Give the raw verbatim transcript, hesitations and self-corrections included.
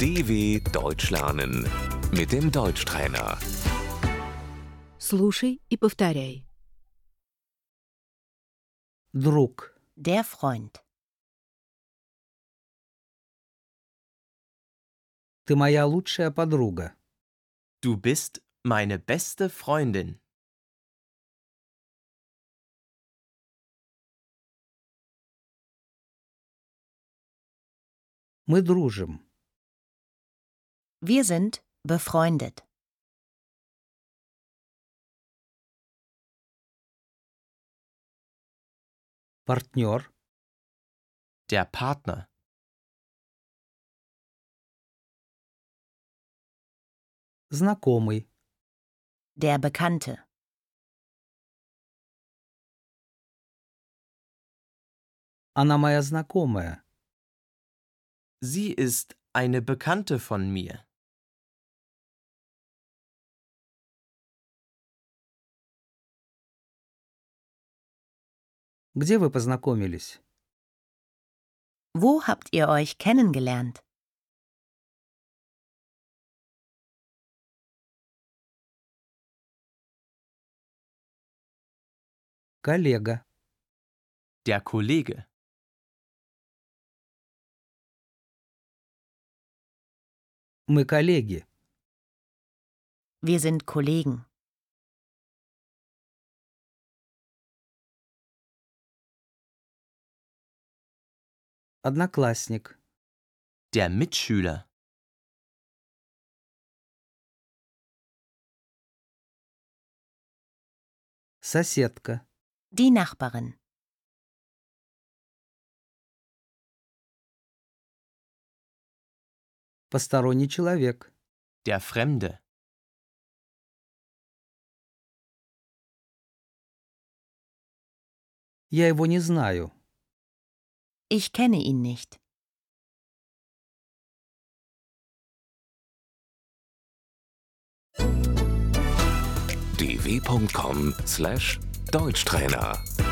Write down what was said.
D W Deutsch lernen mit dem Deutschtrainer. Слушай и повторяй. Друг, Der Freund. ты моя лучшая подруга. Du bist meine beste Freundin. Мы дружим. Wir sind befreundet. Партнер, Der Partner. знакомый, Der Bekannte. она моя знакомая. Sie ist eine Bekannte von mir. Где вы познакомились? Wo habt ihr euch kennengelernt? Коллега, Der Kollege. мы коллеги. Wir sind Kollegen. Одноклассник, Der Mitschüler. соседка, Die Nachbarin. посторонний человек. Der Fremde. Я его не знаю. Ich kenne ihn nicht. d w punkt com slash Deutschtrainer